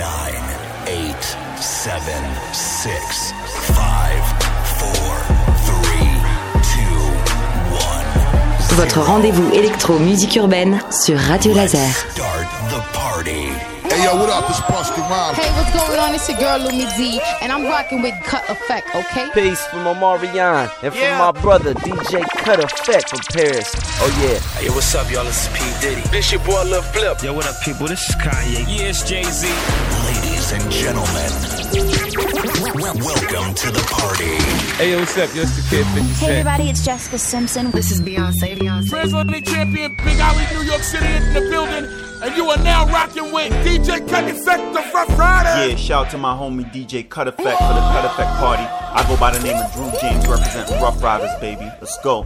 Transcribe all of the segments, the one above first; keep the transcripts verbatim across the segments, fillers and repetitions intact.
nine, eight, seven, six, five, four, three, two, one. Votre rendez-vous électro-musique urbaine sur Radio Laser. Start the party. Hey yo, what up? It's Busta Rhymes. Hey, what's going on? It's your girl Lumi D, and I'm rocking with Cut Effect, okay? Peace from Omarion and yeah. from my brother D J Cut Effect from Paris. Oh yeah. Hey, what's up, y'all? This is P Diddy. This your boy Lil Flip. Yo, what up, people? This is Kanye. Yeah, it's Jay-Z. Ladies and gentlemen, welcome to the party. Hey, yo, what's up? Yo, it's the Kid fifty Cent. Hey, everybody, it's Jessica Simpson. This is Beyonce. Beyonce. Translating champion, Big Alley, New York City in the building. And you are now rocking with D J Cut Effect, the Rough Rider. Yeah, shout out to my homie D J Cut Effect for the Cut Effect party. I go by the name of Drew James, representing Rough Riders, baby. Let's go. D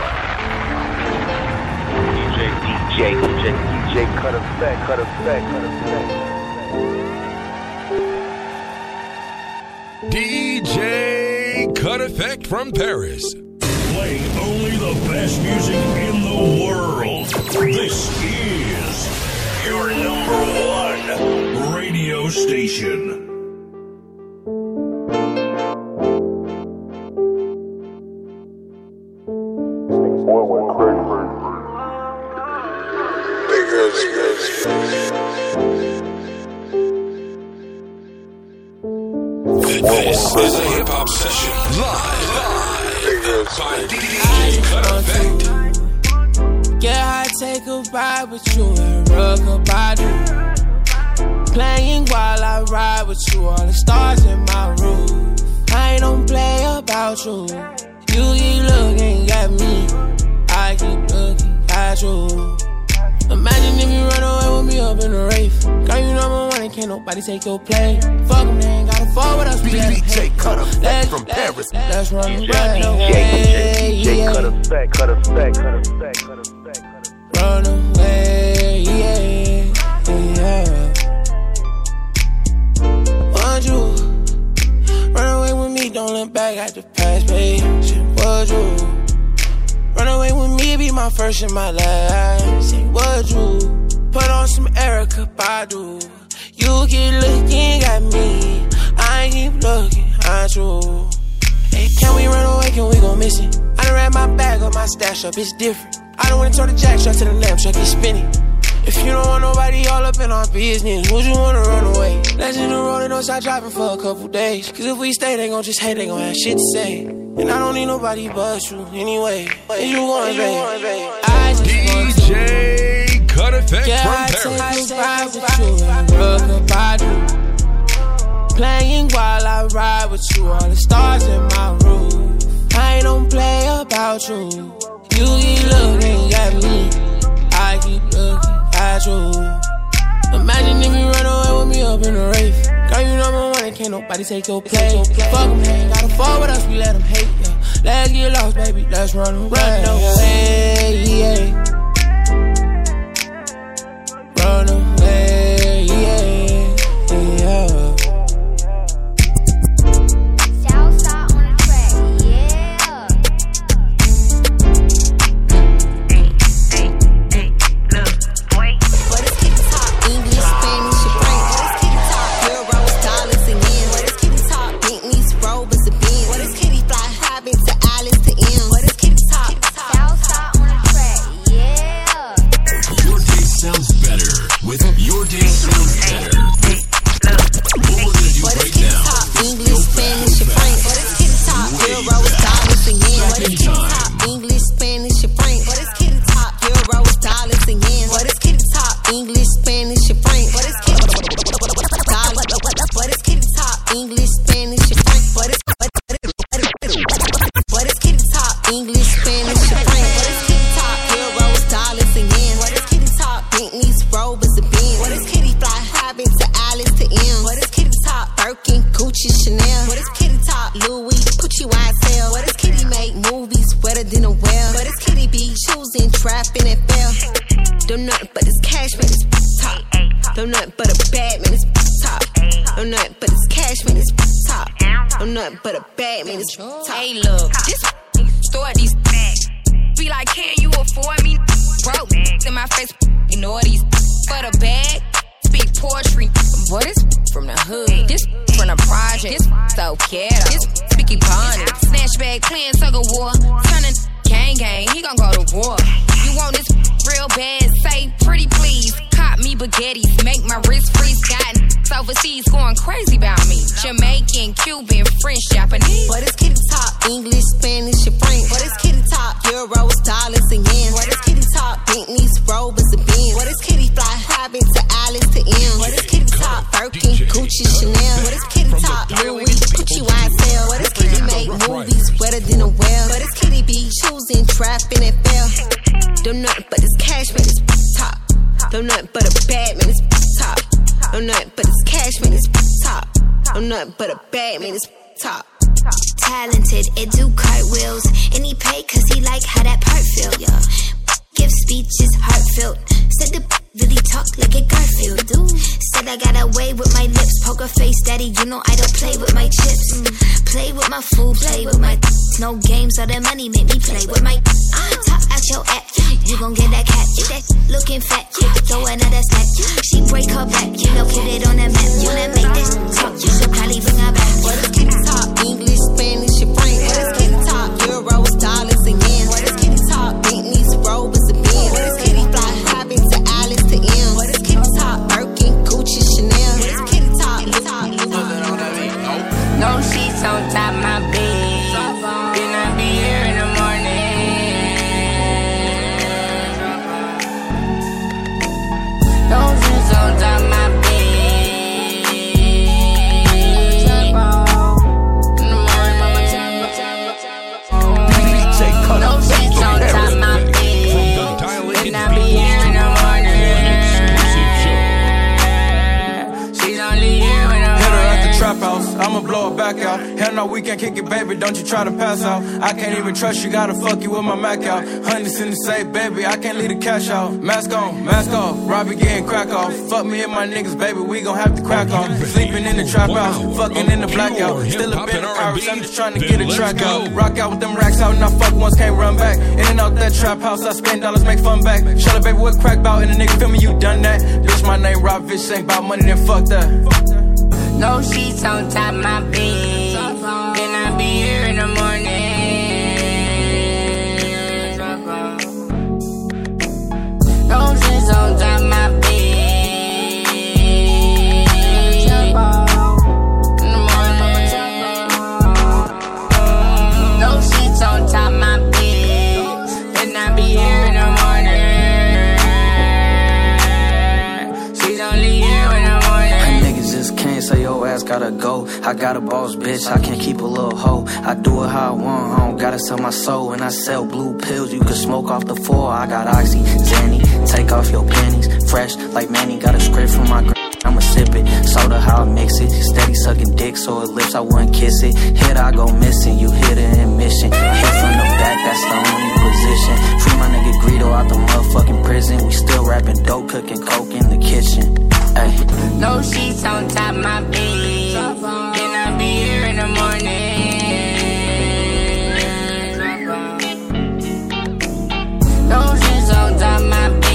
J, D J, D J, D J Cut Effect, Cut Effect, Cut Effect. D J Cut Effect from Paris. Playing only the best music in the world. This is your number one radio station. This is a hip hop session live by D J Cut Effect. Yeah, I take a ride with you and rock a body. Playing while I ride with you, all the stars in my roof. I don't play about you. You keep looking at me, I keep looking at you. Imagine if you run away with me up in the rave. Girl, you number one and can't nobody take your play. Fuck them, they ain't gotta fall with us. D J Cut Effect from Paris. Let's run away. D J, D J Cut Effect, Cut Effect, Cut Effect, Cut Effect. Run away, yeah, yeah. Would you run away with me? Don't look back at the past, babe. Would you run away with me? Be my first and my last. Say, would you put on some Erykah Badu? You keep looking at me, I keep looking at you. Hey, can we run away? Can we go missing? I done ran my bag up, my stash up, it's different. I don't wanna turn the jack shot to the lamp, truck is spinning. If you don't want nobody all up in our business, would you wanna run away? Let's hit the road and don't stop driving for a couple days. Cause if we stay, they gon' just hate, they gon' have shit to say. And I don't need nobody but you anyway. And you going, babe? I just D J Cut Effect yeah, from Paris. Yeah, I take a ride with you and rock a body. Playing while I ride with you, all the stars in my roof. I don't play about you. You keep looking at me, I keep looking at you. Imagine if you run away with me up in the rave. Girl, you number one and can't nobody take your place. Fuck them, they ain't gotta fall with us, we let them hate, yeah. Let's get lost, baby, let's run away. Run away, yeah. Run away, yeah, yeah. Hey, look, this store these bags. Be like, can you afford me? Broke in my face, ignore these for the bag. Speak poetry, Boy, this from the hood. This from the project. This so ghetto. This Vicky Bonnet. Snatch bag playing tug of war. Turning gang gang. He gon' go to war. You want this real bad? Say pretty please. Cop me baguettes. Make my wrist freeze. Got overseas going crazy about me. Jamaican, Cuban, French, Japanese. But it's kitty top. English, Spanish, and French. But it's kitty top. Euros, dollars, and yen. But it's kitty top. Bentleys, Rovers, and Benz. But it's kitty fly. Private to Alice to M. But it's kitty top. Birkin, Gucci, Chanel. But it's kitty top. Louis, Gucci, Y S L. But it's kitty make movies wetter than a well. But it's kitty be choosing, trapping, and fail. Don't nothing but this cash, man, it's top. Don't nothing but a bad man, it's top. I'm nothing but it's cash, man, it's top. I'm nothing but a bag, man, it's top. Talented, it do cartwheels. And he pay cause he like how that part feel, yeah. Give speeches heartfelt. Said the really talk like a Garfield, dude. Said I got away with my lips. Poker face, daddy, you know I don't play with my chips. Mm. Play with my food, play with my no games, all that money make me play with my I top out your app. You gon' get that cat, that looking fat. Throw another snack. She break her back, you know, put it on the map. Wanna make this talk, you should probably bring her back. What is kitty top? English, Spanish, and French. What is kitty top? Euros, dollars, and yen. What is kitty top? Bentleys, Rovers, and Benz. What is kitty fly? Private to Alice to M. What is kitty top? Birkin, Gucci, Chanel. What is kitty top? No sheets on top my bed. Then I be here in the morning. No sheets on top my bed. In the morning, mama no sheets on top my bed. Then I be here in the morning. She's only here when I'm trap house, I'ma blow it back out. Hell no, we can't kick it, baby, don't you try to pass out. I can't even trust you, gotta fuck you with my Mac out. Hundreds in the safe, baby, I can't leave the cash out. Mask on, mask off, Robbie getting crack off. Fuck me and my niggas, baby, we gon' have to crack off. Sleeping in the trap house, fucking in the blackout. Still a bit of Paris, I'm just trying to get a track out. Rock out with them racks out, and I fuck once, can't run back. In and out that trap house, I spend dollars, make fun back. Shut up, baby, what crack bout, and the nigga feel me, you done that. Bitch, my name Rob, bitch, ain't bout money, then fuck that. No sheets on top my bed. Then I be here in the morning. No sheets on top my bed. In the morning. No sheets on top my bed. Then I be here in the morning. She's only here in the morning. Just can't say your ass gotta go. I got a boss, bitch, I can't keep a little hoe. I do it how I want, I don't gotta sell my soul. And I sell blue pills, you can smoke off the floor. I got Oxy, Zanny, take off your panties. Fresh like Manny, got a script from my gr- I'ma sip it, soda how I mix it. Steady sucking dick so it lips, I wouldn't kiss it. Hit, I go missing, you hit it in mission. Hit from the back, that's the only position. Free my nigga Greedo out the motherfucking prison. We still rapping dope, cooking coke in the kitchen. Ay. No sheets on top my bed. Then I be here in the morning. No sheets on top my bed.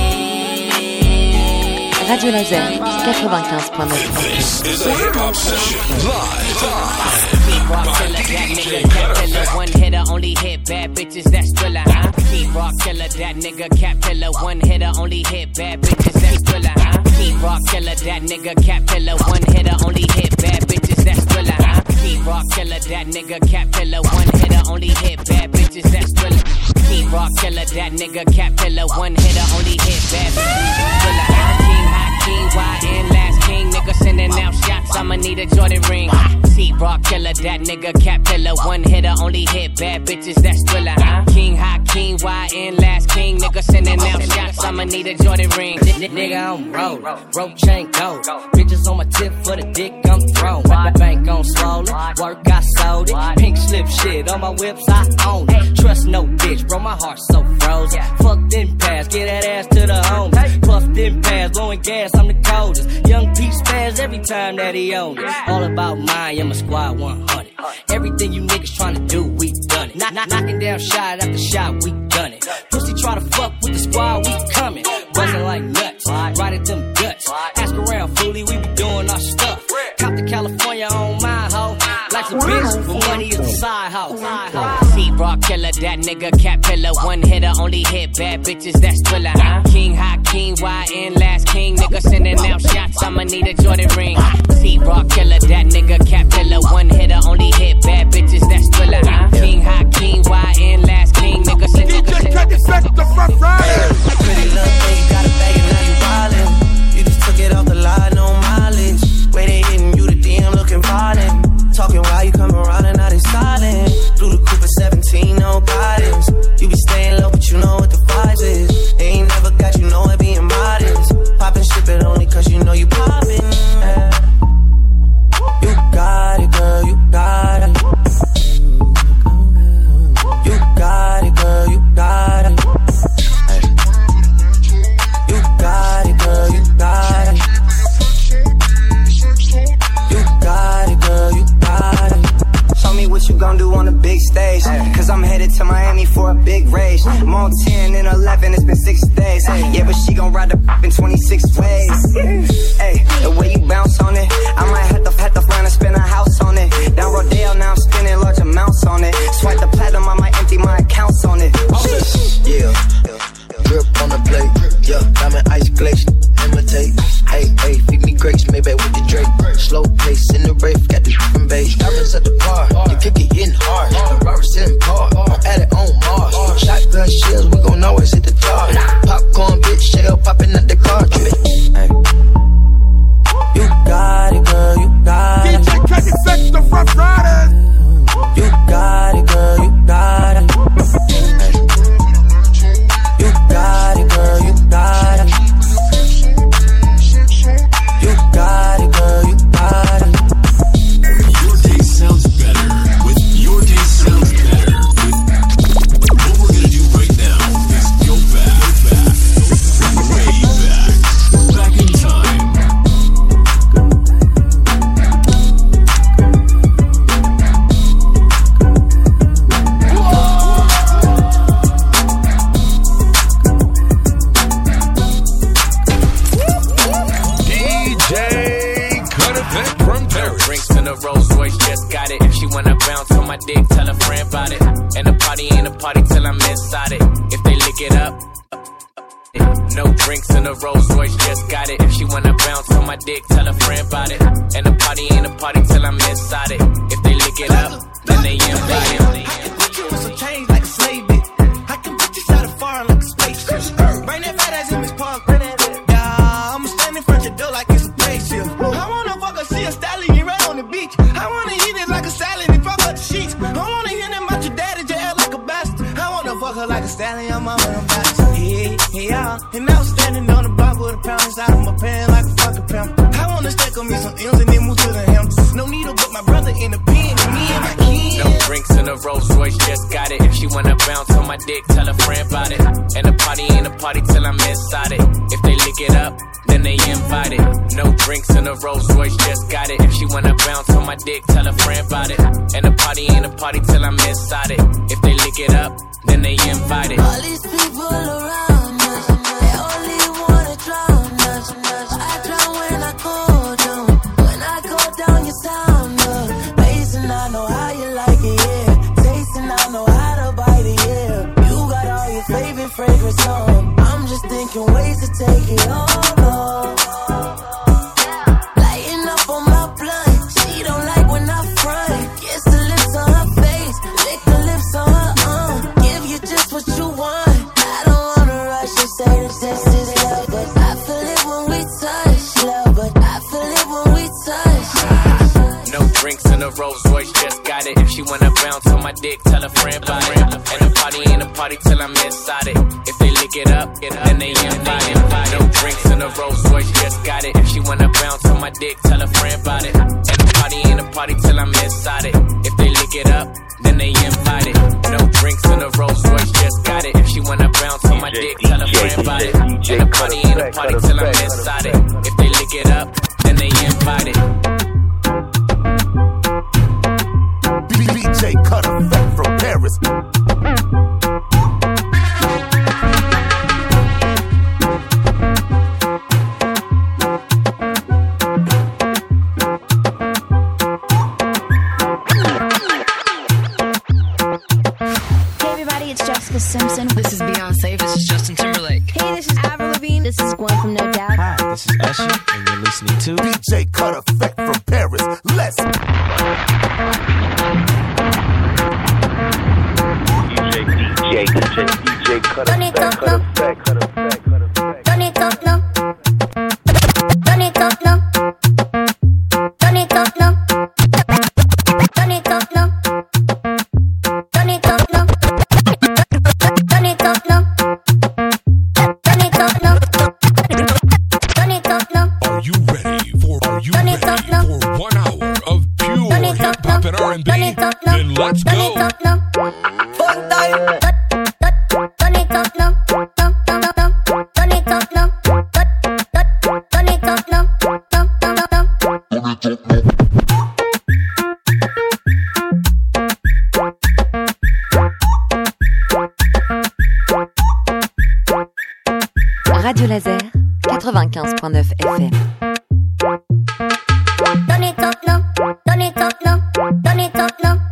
Radio Laser quatre-vingt-quinze point neuf. This is a hip hop session live. Rock killer, that nigga cat killer. One hitter, only hit bad bitches, that's thriller, huh? Keep rock killer, that nigga cat killer. One hitter, only hit bad bitches, that's thriller, huh? Keep rock killer, that nigga cat killer. One hitter, only hit bad bitches, that's thriller, huh? Keep rock killer, that nigga cat killer. One hitter, only hit bad bitches, that's thriller. Keep rock killer, that nigga cat killer. One hitter, only hit bad bitches, that's thriller, huh? King, hot king, Y N, last king, nigga sending out shots. I'ma need a Jordan ring. T-Rock killer, that nigga cap killer. One hitter, only hit bad bitches, that's thriller, huh? King, hot king, Y N, last king, nigga sending out shots. I'ma need a Jordan ring. Nigga, I'm rollin', rope chain gold. Bitches on my tip for the dick, I'm throwin'. My bank on swollen, work I sold it. Pink slip shit on my whips, I own it. Trust no bitch, bro, my heart so frozen. Fuck them pass, get that ass to the homies. Puff them pass, blowing gas, I'm the coldest. Young P spaz every time that he own it. All about mine, I'm a squad one hundred. Everything you niggas tryna do, we done it. Knock, knock, knocking down shot after shot, we done it. Pussy try to fuck with the squad, we coming. Buzzing like nuts, right at them guts. Ask around, foolie, we be doing bitch, but money is a side hoe. T-Rock killer, that nigga cat pillar. One hitter, only hit bad bitches, that's thriller. I'm king, hot king, Y N, last king. Nigga sending out shots, I'ma need a Jordan ring. T-Rock killer, that nigga cat pillar. One hitter, only hit bad bitches, that's thriller. I'm king, hot king, Y N, last king. Nigga sending out shots. D J Cut Effect, the front rider. Pretty little thing, got a bag and now you wildin'. You just took it off the line, no mileage. Way they hitting you, the D M looking violent. Talking while you come around and now they silent. Blue the Cooper seventeen, no guidance. You be staying low, but you know what the vibes is. They ain't never got you know it being modest. Poppin' ship it only cause you know you poppin'. Yeah. You got it, girl, you got it. You got it, girl, you got it. Hey. You got it, girl, you got it. You got it, girl, you got it. Show me what you gon' do on the big stage. Cause I'm headed to Miami for a big race. I'm on ten and eleven, it's been six days. Yeah, but she gon' ride the in twenty-six ways. Hey, the way you bounce on it, I might have to, have to find and spend a house on it. Down Rodale, now I'm spending large amounts on it. Swipe the platinum, I might empty my accounts on it. Yeah, drip on the plate. Yeah, diamond ice glaze, imitate. Hey, hey, feed me grapes, maybe with the Drake. Slow pace in the rave, got the different bass. Diamonds at the bar, you kick it in hard. The Robert's in par, I'm at it on Mars. Shotgun shells, we gon' always hit the tar. Popcorn, bitch, shell popping at the cartridge. Hey. You got it, girl, you got it. D J Cut Effect, the front riders. You got it, girl, you got it. Hey. You got it, girl, you got it. You got it, girl, you got it. Your day sounds better with Your Day Sounds Better with. What we're gonna do right now is go back, go back, way back, back in time. D J Cut Effect from Paris. Drinks in a Rolls Royce, just got it. If she wanna bounce on my dick, tell a friend about it. And the party ain't a party till I'm inside it. If they lick it up, no drinks in a Rolls Royce, just got it. If she wanna bounce on my dick, tell a friend about it. And the party ain't a party till I'm inside it. If they lick it up, then they invite it. I can put you on some change like a slave bit. I can put you out of foreign like a spaceship. Bring that fat ass in Miss Park. Yeah, I'ma stand in front your door like it's a spaceship. I wanna fuck her, see a stallion right on the beach. I wanna eat it like a salad and fuck up the sheets. I wanna hear them about your daddy, your ass like a bastard. I wanna fuck her like a stallion, I'm on her bastard. Yeah, yeah, and now standing on the block with a pound inside of my pants like a fucking pound. I wanna stack on me some M's and then move to the Hamptons. No needle but my brother in the pen and me and my kids. No drinks in a Rolls Royce, just got it. If she wanna bounce on my dick, tell a friend about it. And the party ain't a party till I'm inside it. If they lick it up, then they invite it. No drinks in a Rolls Royce, just got it. If she wanna bounce on my dick, tell a friend about it. And the party ain't a party till I'm inside it. If they lick it up, then they invite it. All these people around us, they only wanna drown us. I drown when I go down. When I go down, you sound up. Basin, I know how you like it, yeah. Tasting, I know how to bite it, yeah. You got all your favorite fragrance on. I'm just thinking ways to take it all off. Lighting up on my blunt. She don't like when I front. Kiss the lips on her face, lick the lips on her arm. Give you just what you want. I don't wanna rush and say that this is love, but I feel it when we touch. Love, but I feel it when we touch. No drinks in a Rolls Royce, just got it. If she wanna bounce on my dick, tell a friend about it. And the party ain't a party till I'm inside it. If they lick it up, then they invite it. No drinks in a Rolls Royce, just got it. If she wanna bounce on my dick, tell a friend about it. And the party ain't a party till I'm inside it. If they lick it up, then they invite it. No drinks in a Rolls Royce, just got it. If she wanna bounce on my dick, tell a friend about it. And the party ain't a party till I'm inside it. If they lick it up, then they invite it. D J Cut Effect from Paris. Usher, and you're listening to D J Cut Effect from Paris. Let's D J, D J, D J, D J Cut Effect, Cut Effect, Cut Effect, Cut Effect. Turn it up now. Turn it up now. Turn it up now. Turn it up now. Turn it up now. Turn it up now. Turn it up now. Turn it up now. Are you ready for, are you ready for one hour of pure hip hop and R and B? Then let's go. Turn it up now. Fun time. Turn it up now. Turn it up now. Turn it up now. Radio Laser, quatre-vingt-quinze virgule neuf F M. Turn it up now. Turn it up now. Turn it up now.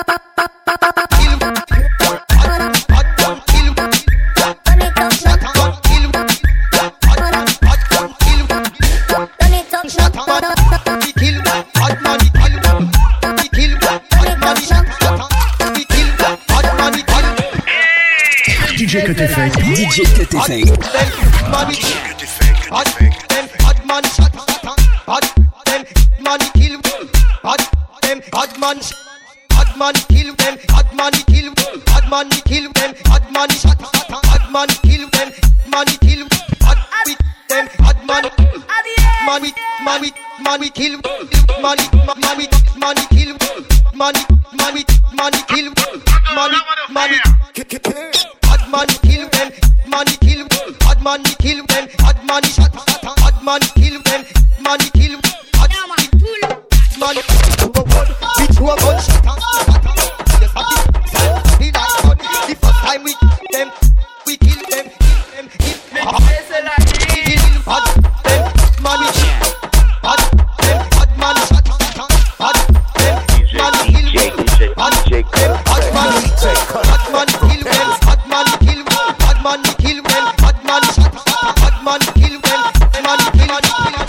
D J Cut Effect. D J Cut Effect. Hot them hot man shot, hot them man kill, hot them hot man, hot man kill them, hot man kill, hot man kill them, hot man shot, hot man kill them, man kill, hot with them, hot man, man with man with man with kill, man man with man kill, man man with man kill, man man hot man kill them, man kill, hot man kill them, hot man shot, hot man kill them, man kill, hot man bitch who a gunshot, yes I kill, be like God, the first time we them, we kill them, kill them, kill them, kill hot them, man hot them, hot man shot, hot them, man kill them, hot them, hot man, hot man kill them, hot man kill them, hot man kill them, hot man shot, hot man kill them, man kill them.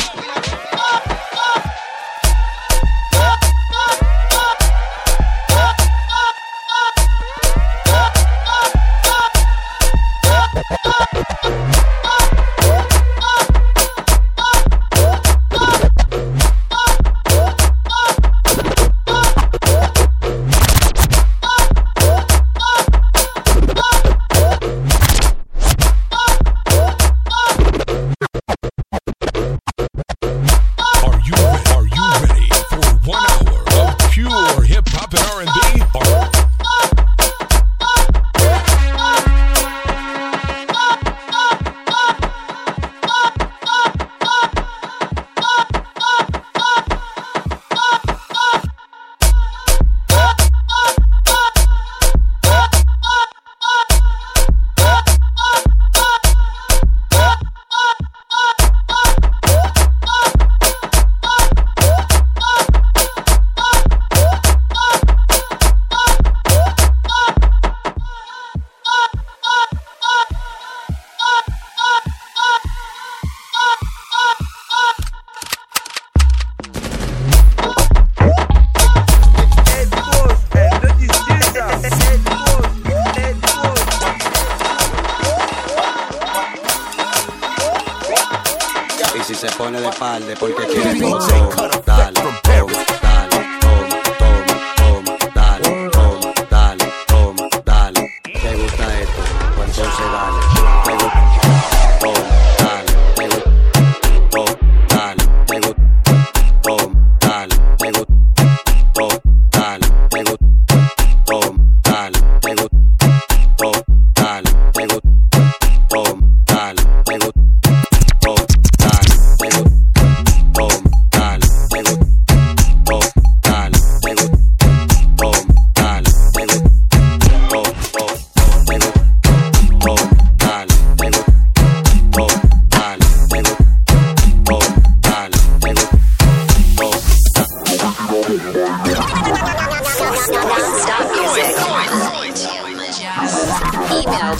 Porque quiere todo, dale, toma, dale, toma, toma, toma, dale, toma, dale, toma, dale. ¿Te gusta esto? Pues entonces dale. ¿Te gusta? Toma, dale, te gusta, toma, dale, te gusta, toma, dale, te gusta, toma, dale, te gusta, toma, dale, te gusta, toma, dale, te gusta, toma, dale, te gusta, toma, dale, te gusta. Boom, dale,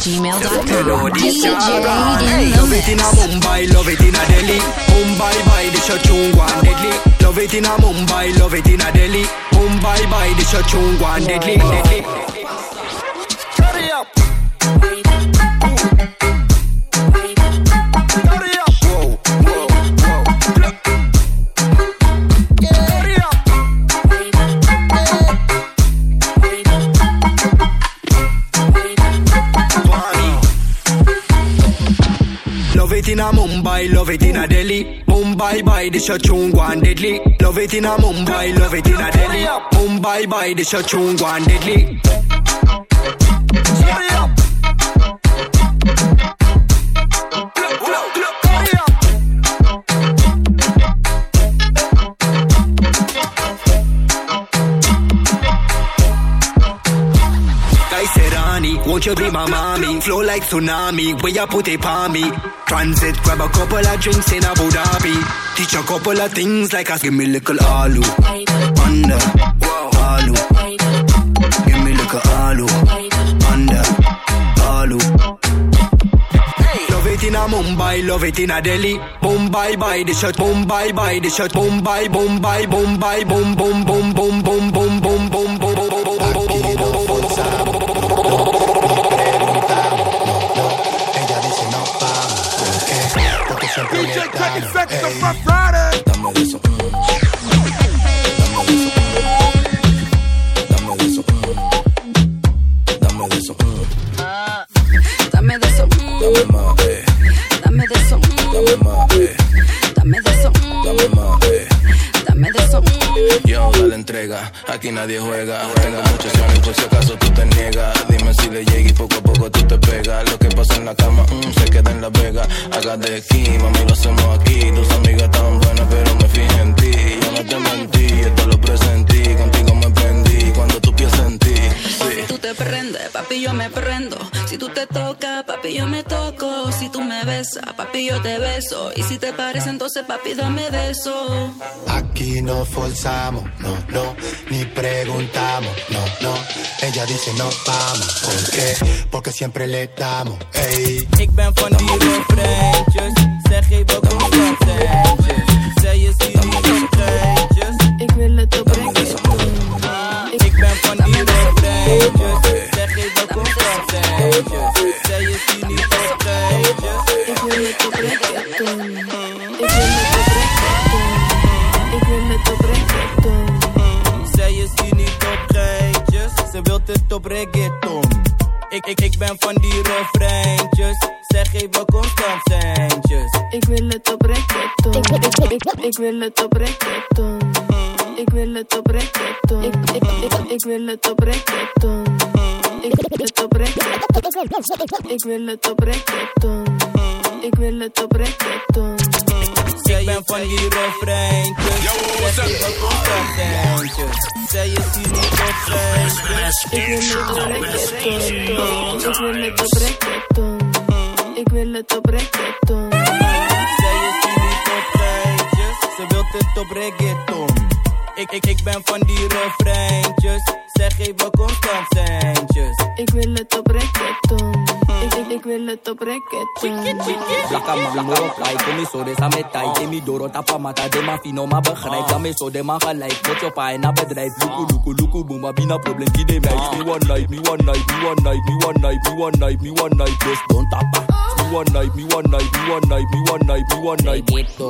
gmail dot com. melody D J Hey, in love the it in a mix. Mumbai, love it in a Delhi. Mumbai by the Shachung one deadly. Love it in a Mumbai, love it in a Delhi. Mumbai by the Shachung one deadly. deadly. Hurry up. Hurry up. Whoa, whoa, whoa. Hurry up. Love it in a Mumbai, love it in a Delhi. Mumbai by the Shachung one deadly. Love it in a Mumbai, love it in a Delhi. Mumbai by the Shachung one deadly. Hurry up. Look, look, look. Hurry up. Kaiserani, won't you be my mommy? Flow like tsunami, where you put it on me. Transit, grab a couple of drinks in Abu Dhabi. Teach a couple of things like us. Give me little alu, under, alu. Give me little alu, under, alu. Love it in a Mumbai, love it in a Delhi. Mumbai by the shot, Mumbai by the shot, Mumbai, Mumbai, Mumbai, boom, boom, boom, boom, boom, boom, boom, boom, boom, boom, boom, D J Kenny Sex, the Rough Riders. Dame de eso, mm. Dame de eso, mm. Dame de eso, mm. Dame de eso, mm. Dame de eso, mm. Dame más, eh. Dame de eso, mm. Dame más, eh. Dame de eso, mm. Dame más, eh. Dame de eso, mm. Yo, dale entrega, aquí nadie juega. Tengo muchas ganas por si acaso tú te niegas. Dime si le llega y poco a poco tú te pegas. Lo que pasa en la cama, mm, se queda en la vega. Haga de aquí, mami, lo hacemos aquí. Tus amigas estaban buenas, pero me fijé en ti. Yo no te mentí, esto lo presentí. Contigo me prendí, cuando tú piensas en ti. Sí. Si tú te prendes, papi, yo me prendo. Si tú te tocas, papi, yo me toco. Si tú me besas, papi, yo te beso. Y si te parece, entonces, papi, dame beso. Aquí no forzamos, no, no, ni preguntamos, no, no. Ella dice no vamos, ¿por qué? Porque siempre le damos, ey. Ik ben van die refreintjes, zeg even constantjes. Zij je ziet niet op geintjes. Ik wil het oprecht. Ik ben van die refreintjes, zeg even constantjes. Zij je ziet niet op geintjes. Ik wil het oprecht doen. Ik wil het oprecht doen. Ik wil het oprecht doen. Zij is hier niet op geintjes, ze wilt het op reggaeton. Ik, ik, ik ben van die refreintjes, zeg even constant centjes. Ik wil het oprecht doen. Ik, ik, ik, ik wil het oprecht doen. Ik wil het oprecht doen. Ik, ik, ik, ik wil het oprecht doen. Ik wil het oprecht doen. Ik wil het oprecht doen. Ik wil het oprecht doen. Ik ben van die refreintjes, zeg even constant centjes. Zij is hier niet op geintjes. Ik wil het oprecht doen. Ik wil het oprecht doen. Ik wil het oprecht doen. Zij is hier niet op geintjes, ze wilt het op reggaeton. Ik, ik, ik ben van die refreintjes, zeg even constant centjes. Ik wil het oprecht doen. Ik, ik, ik wil het oprecht doen. Blakka man, moro plai, kom eens zo, deze met tijd. Demi doro tapa mata, de ma fino ma begrijp. Dan me zo, de ma gelijk, moet je paai na bedrijf. Luku, luku, luku, boom, maar bina probleem, die de meis. Me one night, me one night, me one night, me one night, me one night, me one night, just don't tapa. Me one night, me one night, me one night, me one night, me one night.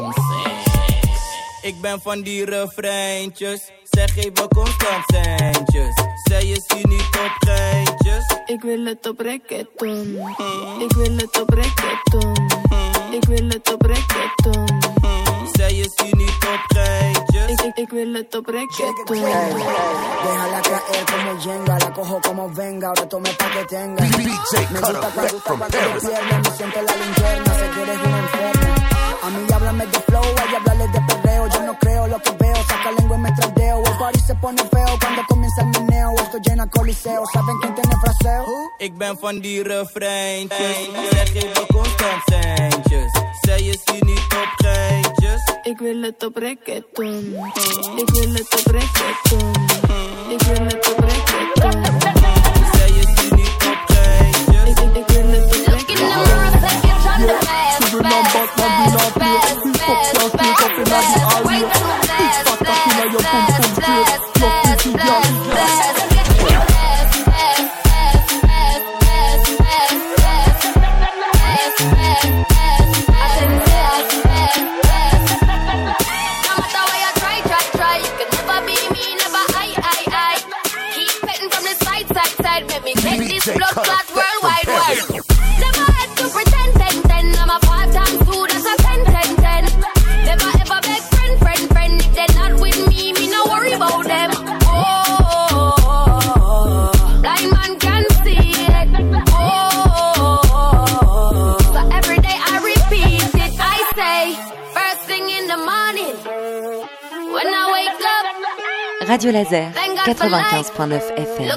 Ik ben van die refreintjes, zeg even constant centjes. Zij is hier niet op geintjes. Ik wil het oprecht doen. Ik wil het oprecht doen. Ik wil het oprecht doen. Zij is hier niet op geintjes. Ik, ik, ik wil het oprecht doen. Déjala caer como Jenga, la cojo como venga, ahora tome pa' que tenga. Me gusta cuando, cuando te pierdes, me siento la linterna, sé que eres una enferma. A mí háblame de flow, a ella hablarle de perreo. Yo no creo lo que veo, saca lengua y me traldeo. El party se pone feo cuando comienza el meneo. Esto llena coliseo, ¿saben quién tiene fraseo? Ik ben van die refreintjes, zeg even constant centjes. Zij is hier niet op geintjes. Ik wil het oprecht doen. Ik wil het oprecht doen. Ik wil het oprecht doen. Zij is hier niet op geintjes. Radio Laser, quatre-vingt-quinze point neuf F M.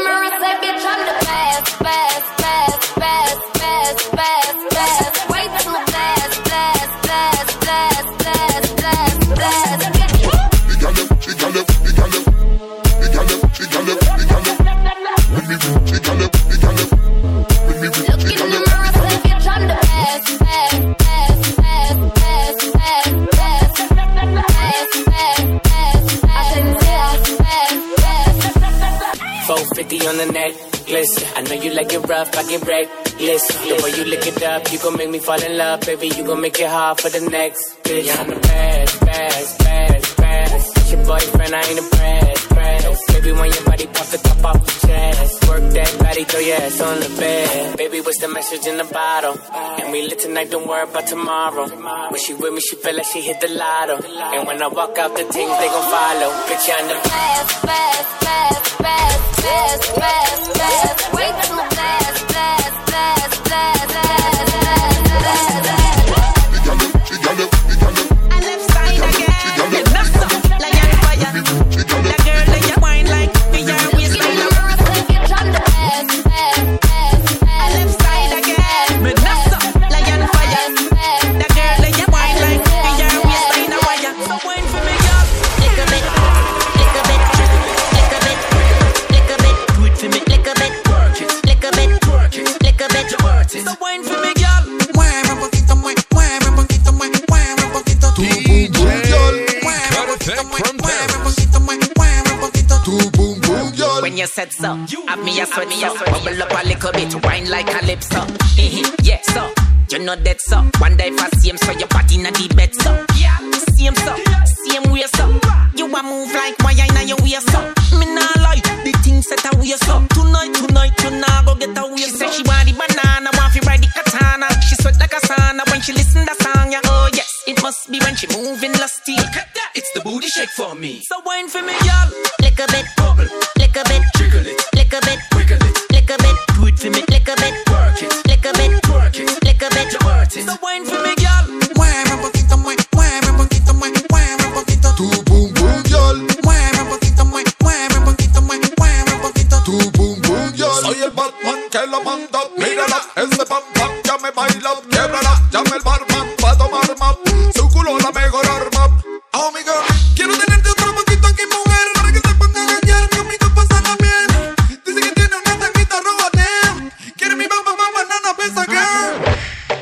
fifty on the necklace. I know you like it rough, I get reckless. The way you lick it up, you gon' make me fall in love, baby. You gon' make it hard for the next bitch. Yeah, I'm the best, best, best, best. It's your boyfriend, I ain't impressed, press. Baby, when your body pop the top off the chest, work that body, throw your ass on the bed. Baby, what's the message in the bottle? And we lit tonight, don't worry about tomorrow. When she with me, she feel like she hit the lotto. And when I walk out, the things they gon' follow. Bitch, I'm the best, best, best, best. Best, best, best, way too blessed, blessed, blessed, blessed, blessed, blessed, blessed. I left side again, you knock some like on fire. That girl that you wine like me, your waistline. I'm the best, best, best. I left side again, me knock some like on fire. That girl that you wine like me, your waistline. I wire. So wine for me, girl. Lick a bit, lick a bit, lick a bit. For me, lick a bit, work it, lick a bit, work it, lick a bit, work it. So wine for me, girl. Mueve un poquito, mueve, mueve un poquito, mueve, mueve un poquito. Tu boom boom, girl. Mueve un poquito, mueve, mueve un poquito, mueve, mueve un poquito. Tu boom boom, girl. When you said so, have me a sweat so, bubble up a little bit, wine like calypso. Yeah, so you know that so. One day if I see him, so your body na the bed so. Yeah, same so, same way so. You a move like wine na your waist so. Me nah lie. The thing set her waist up. Tonight, tonight, you nah go get her waist up. She said she want the banana, want to ride the katana. She sweat like a sauna when she listen to song, yeah. Oh yes, it must be when she moving lusty. Look at that, it's the booty shake for me. So wine for me, y'all. Lick a bit, bubble, lick a bit, jiggle it, lick a bit, wiggle it, lick a bit, do it for me, lick a bit, work it, lick a bit, work it, lick a bit, work it. So wine for me, y'all. Mueve un poquito, mueve, mueve un poquito, mueve, mueve un poquito. Tu boom boom, y'all. Mueve un poquito, mueve, mueve un poquito, mueve. Tu boom boom, yo. Soy el Batman que lo manda. Mírala, ese pam pam ya me baila. Quiebrala, llama el barman pa' tomar map. Su culo la mejor arma. Oh my God, quiero tenerte otro poquito aquí, mujer, para que se ponga a engañar conmigo, pasarla bien. Dice que tiene una tanguita robatea. Quiere mi mamá, mamá, nana, pesa girl.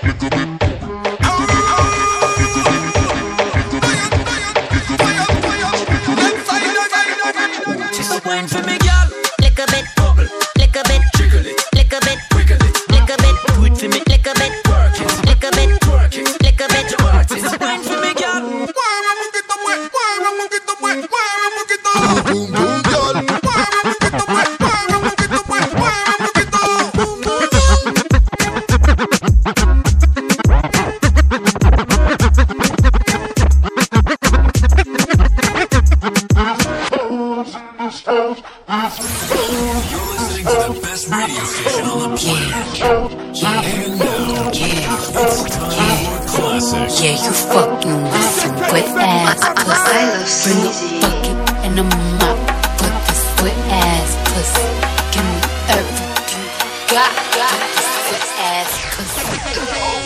She's so wine for me, girl. Lick a bit, bubble, lick a bit, jiggle it, lick a bit, wiggle it, lick a bit, do it for me, lick a bit, work it, lick a bit, work it, lick a bit, work it. It's a wine for me, girl. Mueve un poquito, mueve, mueve un poquito, mueve, mueve un poquito. Boom, boom, girl. Mueve un poquito, mueve, mueve un poquito, mueve, mueve un poquito. Boom, boom, radio station on the planet. Yeah, and now, yeah, it's time for classic. Yeah, you fucking with some good ass pussy. Bring a bucket and a mop for this good ass pussy. Give me everything you got, got this good ass pussy.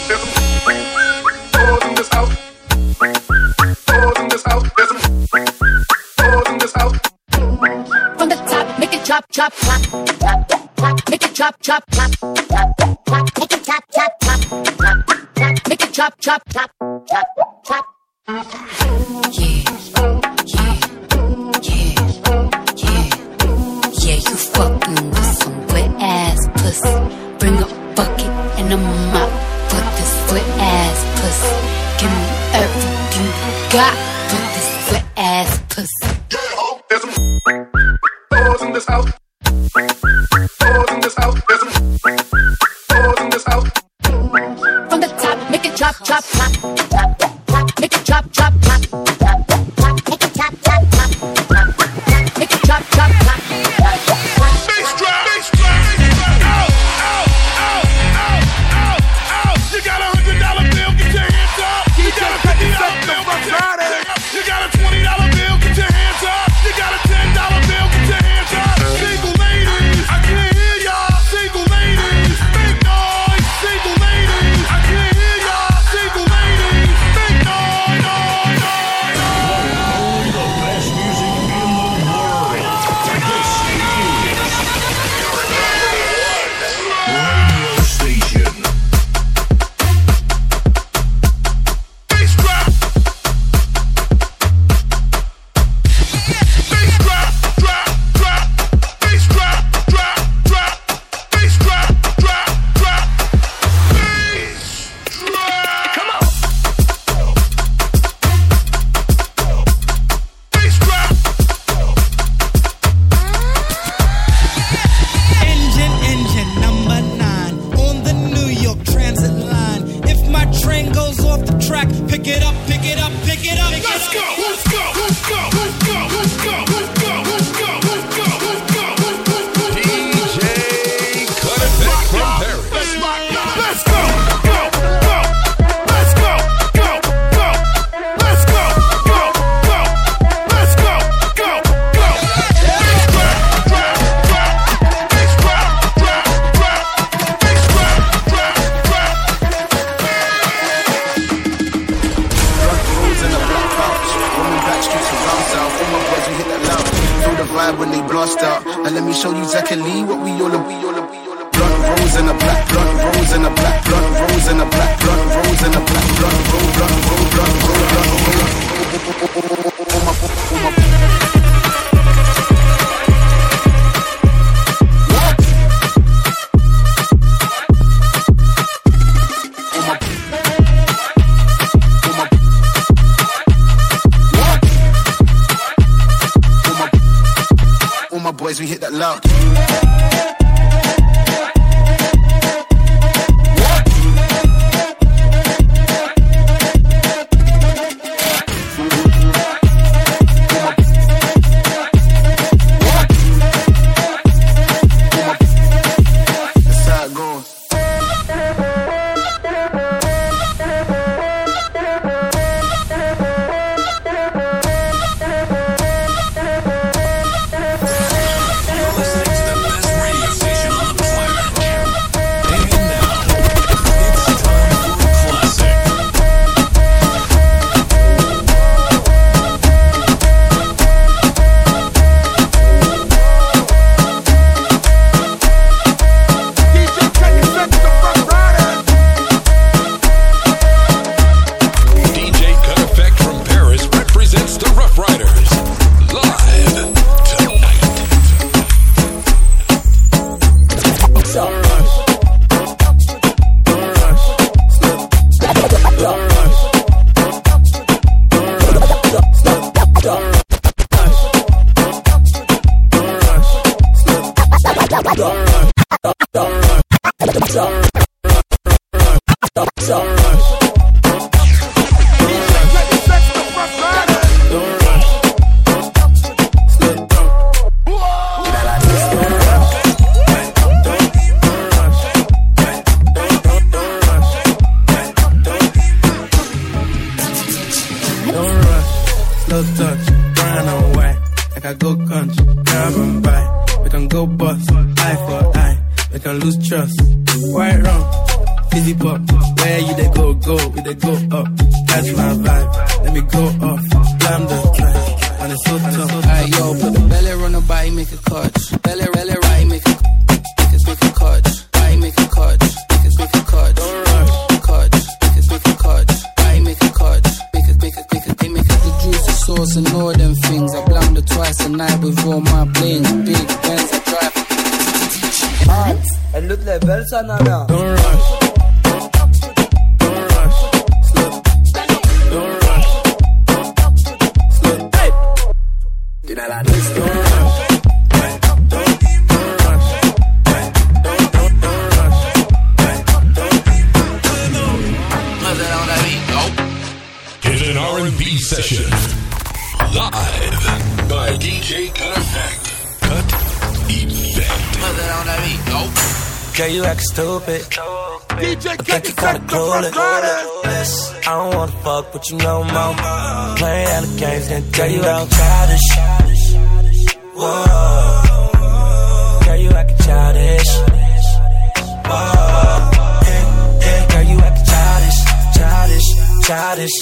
Balls in this house. Balls in this house. There's some balls in this house. From the top, make it drop, drop, drop, drop, drop. Make it drop, drop, drop, drop. make it chop, chop, chop, chop, chop, make it chop, chop, chop, chop, chop. Yeah, yeah, yeah, yeah, yeah. You fucking with some wet ass pussy. Bring a bucket and a mop for this wet ass pussy. Give me everything you got for this wet ass pussy. There's some doors in this house. Doors in this house. There's some doors in this house. From the top, make it chop, chop, chop, chop, chop, make it chop, chop, chop, chop, chop, make it chop, chop, chop, chop, chop, make it chop, chop, chop, chop, chop. Bass drop, bass drop, out, out, out, out, out, out. You got a hundred dollar bill, get your hands up. You got a fifty dollar bill, get your hands up. You got a twenty dollar bill, get your hands up. You got a ten dollar bill, get your hands up. Single ladies, I can't hear y'all. Single ladies, make noise. Single ladies, I can't hear y'all. Single ladies, make noise, noise, noise, noise. The best music in the world. This is radio station. Bass drop. Bass drop, drop, drop. Bass drop, drop, drop. Bass drop, drop, drop. Bass drop. Come on. Bass drop. Engine, engine number nine on the New York Transit line. If my train goes off the track, pick it up, pick it up, pick it up. Let's go, let's go, let's go, let's go, let's go, let's go, let's go, let's go, let's go, let's go. D J Cut It Back from Paris. Let's rock, let's go, go, go, let's go, go, go, let's go, go, go, let's go, go, go. Bass drop, drop, drop, bass drop, drop, drop, bass drop, drop, drop. Front rows in a black couch. Roaming back streets around south. All my boys, we hit that loud. Feel the vibe when they blast out. And let me show you exactly what we all are. We all are. We all are. Blunt rolls in a black. Blunt rolls in a black. Blunt rolls in a black. Blunt rolls in a black. Blunt roll. Blunt roll. Blunt roll. Blunt roll. All my, all my. All my boys, we hit that loud. That's how it goes. Listening to the best radio station on the planet. And now, it's time for a classic. D J Cut It Back, the Rough Riders. D J Cut Effect from Paris represents the Rough Riders. Live tonight. Don't rush. Don't rush. Don't rush. Don't rush. Slow touch, brown and white, like I go country, grab and buy. We can go bust, eye for eye, we can lose trust. White rum, fizzy pop, where you they go, go, we they go up. Catch my vibe, let me go off, slam the track, and it's so tough. Alright, yo, put the belly on the body, make a clutch. Belly, belly, right, make a, make a, make a clutch. Body, make a clutch. Make a, sauce and all them things. I blunder twice a night with all my blings. Big Benz, I drive. Hot, el look level sa nana. Don't rush. Don't rush. Slow. Don't rush. Slow. Hey. You know like this. Don't rush. An R and B session live by D J Cut Effect. Cut Effect. Girl, you actin' stupid. D J Cut you kinda clueless. I don't wanna fuck with you no more. Playing all the games, then girl, you actin' childish. Whoa. Girl, you actin' childish. Whoa. Yeah, yeah, girl, you actin' childish, childish, childish.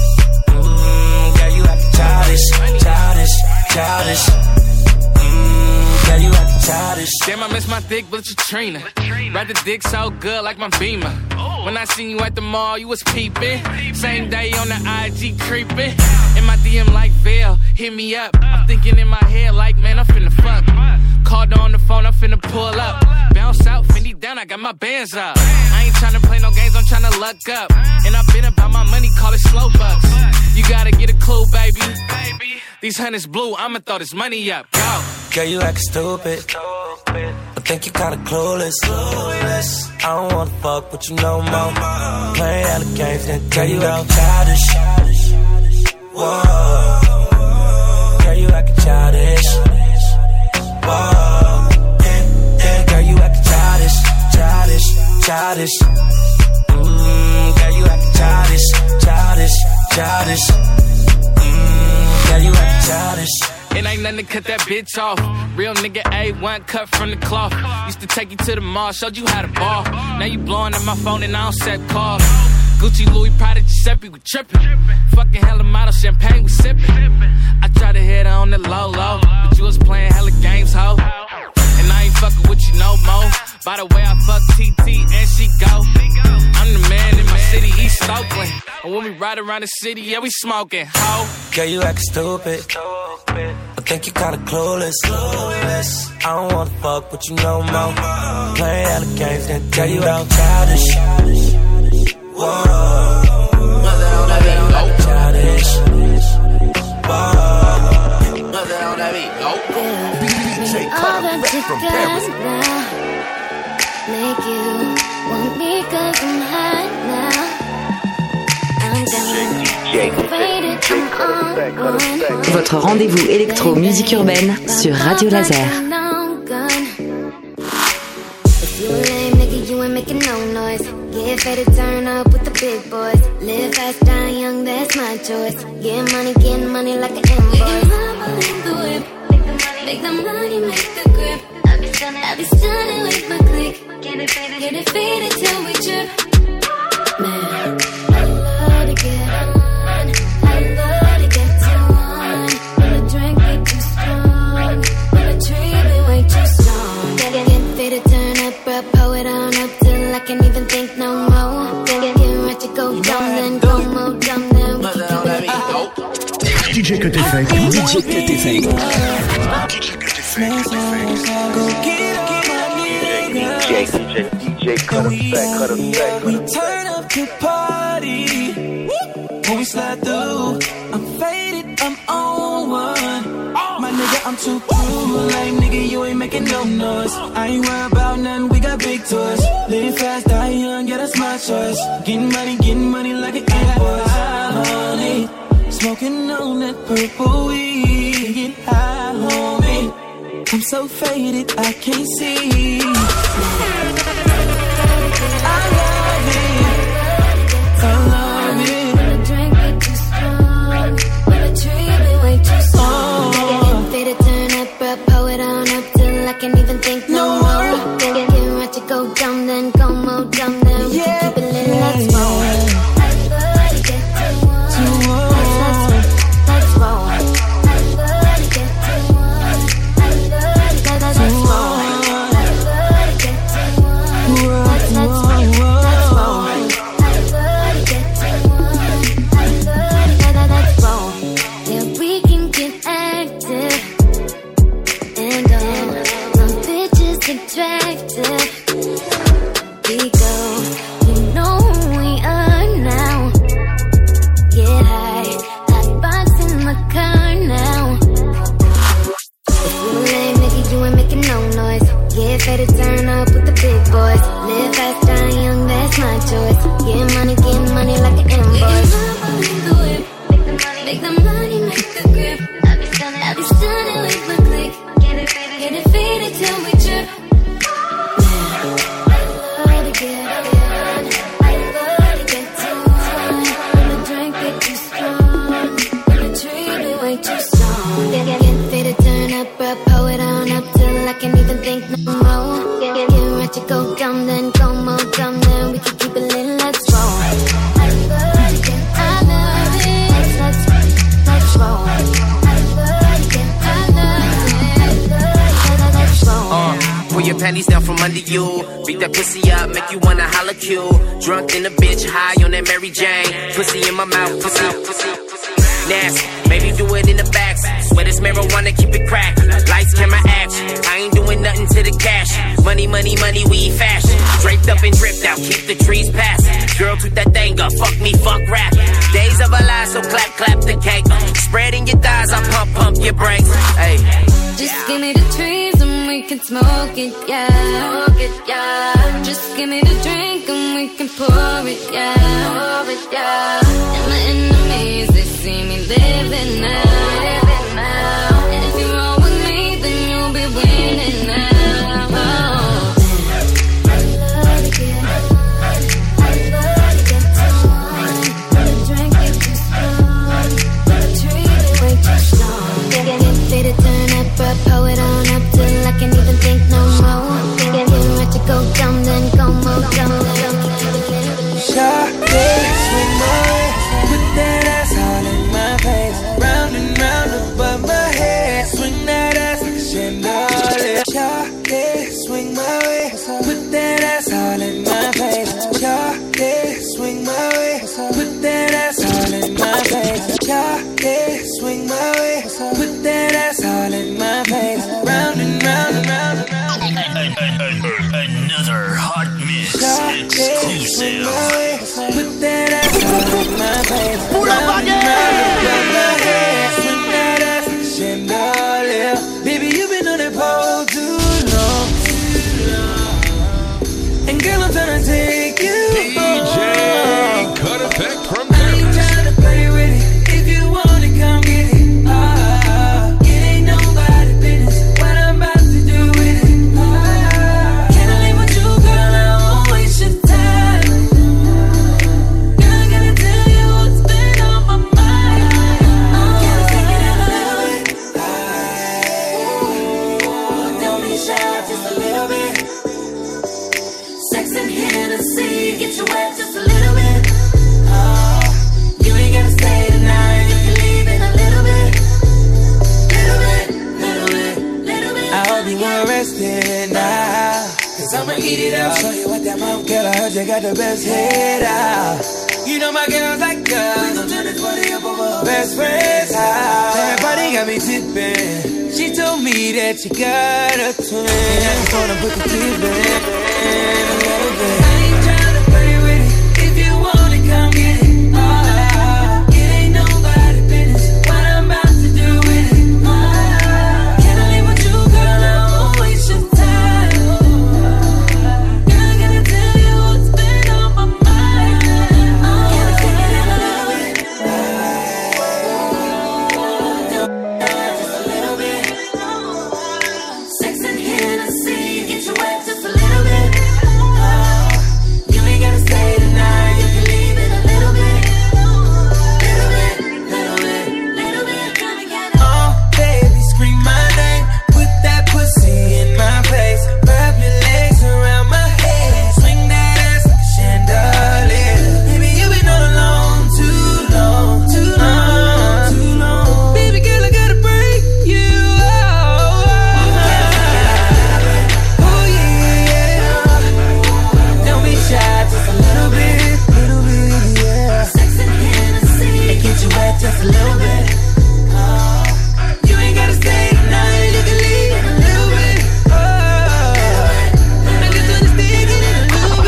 Childish, childish, childish. Mmm, girl, you actin' childish. Damn, I miss my thick but Katrina. Ride the dick so good like my Beamer. When I seen you at the mall, you was peeping. Same day on the I G creeping. In my D M like Vail, hit me up. I'm thinking in my head like, man, I'm finna fuck. Called her on the phone, I'm finna pull up. Bounce out, Fendi down, I got my bands up. I ain't tryna play no games, I'm tryna luck up. And I've been about my money, call it slow bucks. You gotta get a clue, baby. These hundreds blue, I'ma throw this money up. Go. Girl, you actin' stupid. I think you kinda clueless. I don't wanna fuck with you no more. Playing all the games, then girl, you actin' childish. Whoa. Girl, you actin' childish. Whoa. Yeah, yeah, girl, you actin' childish, childish, childish. Mmm, girl, you actin' childish, childish, childish. Mmm, girl, you actin' childish. It ain't nothing to cut that bitch off. Real nigga A one cut from the cloth. Used to take you to the mall, showed you how to ball. Now you blowing up my phone and I don't set calls. Gucci, Louis, Prada, Giuseppe, we trippin'. Fucking hella model, champagne, we sippin'. I tried to hit her on the low, low, but you was playing hella games, ho. And I ain't fucking with you no more. By the way, I fuck T T and she go. I'm the man in my city, East Oakland. And when we ride around the city, yeah, we smoking, ho. Girl, you actin' stupid. I think you kinda clueless. I don't wanna fuck with you no more. Playing all the games, then girl, you out childish. Whoa. Childish. Whoa. D J Cut Effect from Paris. Make you want me 'cause I'm hot now. I'm done. Votre rendez-vous électro-musique urbaine sur Radio Laser. If you a lame nigga, you ain't making no noise. Get fed to turn up with the big boys. Live fast, die young, that's my choice. Get money, get money like an invoice. We can rumble in the whip. Make the money, make the grip. I be stunning, I be stunning with my click. Get it faded, get it faded till we trip. Man, I love to get on. Can't even think no more. Get, get ready to go dumb, then go more dumb, then we can keep it. D J Cut Effect. D J Cut Effect. D J Cut Effect. Go get on my nigga. D J Cut Effect. Cut Effect. We turn up the party when we slide through. I'm faded, I'm on one. My nigga, I'm too cool. Like nigga, you ain't making no noise. I ain't worried about nothing, we got big toys. Live fast, die young, yeah, that's my choice. Getting money, getting money like an invoice. Honey, smoking on that purple weed. Get high, homie. I'm so faded, I can't see. I love it. I love it. When the drink be too strong, when the tree be way too strong. Get faded, turn up, bro, pull it on up till I can't even think no more. Get, get ready to go dumb, then go more dumb, then we can keep it lit, let's roll. I love to get too warm. Let's roll. I love to get too warm. I love to get too warm. I love to get too warm. Let's roll. Let's roll. I love to get too with the grip. I be stunning, I be stunning with my click. Get it, baby, get it faded till we trip. Yeah, I love to get on. I love to get too on. When the drink get too strong, when the treat be way too strong. Get, get, get faded, turn up, bro, pull it on up till I can't even think no more. Get, get, get ready to go dumb, then go more dumb, then we can keep it lit, let's roll. I love to get, I love it. Let's, let's, let's roll. I love to get, I love it. Let's, let's roll. Uh, pull your panties down from under you. Beat that pussy up, make you wanna holla Q. Drunk in a bitch, high on that Mary Jane. Pussy in my mouth, pussy, pussy, pussy. Nasty, maybe do it in the back. Swear this marijuana, keep it cracked. Lights, camera, action. I ain't doing nothing to the cash. Money, money, money, we fashion. Draped up and dripped out, keep the trees passing. Girl, toot that thing up, fuck me, fuck rap. Days of a lie, so clap, clap the cake. Spreading your thighs, I pump, pump your brakes. Hey. Just give me the trees and we can smoke it, yeah. Smoke it, yeah. Just give me the drink and we can pour it, yeah. Pour it, yeah. And my enemies, they see me living now. Living now. And if you roll with me, then you'll be winning now. Oh. I love to get on. I love to get too on. When the drink gets too strong, when the treat is way too strong. Get, get, get faded, turn up, bro, pull it on up till I can't even think no more. Get, get, get ready to go dumb, then go more dumb, then Shawty, swing my way, put that ass all in my face. Round and round above my head, swing that ass like a chandelier. Shawty, swing my way, put that ass all in my face. Shawty, swing my way, put that ass all in my face. Shawty, swing my way, put that ass all in my face. Round and round and round and round. Another hot mix exclusive. Put that ass all in my face. Round and round above my head. Swing that ass like a chandelier. Baby, you've been on that pole too long, too long. And girl, I'm tryna take you D J Cut Effect from I ain't tryna play with it. If you want it, come get it. Ah, it ain't nobody business what I'm about to do with it. Ah, can I leave with you, girl? I won't waste your time. Girl, I gotta tell you what's been on my mind. Oh, can I take it in a little bit? Ah, don't be shy, just a little bit. Sex and Hennessy, get you wet just a little bit. Oh, you ain't gotta stay tonight, you can leave in a little bit. Little bit, little bit, little bit. I hope you weren't resting now, cause I'ma eat it up. Show you what that mouth, girl, I heard you got the best head out. You know my girls like us, we gon' turn this party up over best friends house. Everybody got me tipping. She told me that you got a twin. I just wanna put the teeth in a little bit. I ain't tryna play with it. If you want it, come get it. Ah, it ain't nobody business what I'm about to do with it. Ah, can I leave with you, girl? I won't waste your time. Girl, I gotta tell you what's been on my mind. Oh, can I take it in a little bit? Just a little bit. Sex and Hennessy, get you wet just a little bit. Oh, you ain't gotta stay tonight, you can leave in a little bit. Little bit, little bit, little bit. Oh, baby, scream my name, put that pussy in my face. Wrap your legs around my head, swing that ass like a chandelier. Baby, you been all alone too long, too long, too long. Baby girl, I gotta break you out. Oh yeah, yeah. Don't be shy, just a little bit, little bit, yeah. Sex and Hennessy, it get you wet just a little bit. Oh, you ain't gotta stay tonight, you can leave in a little bit. Oh, I just wanna stay in a little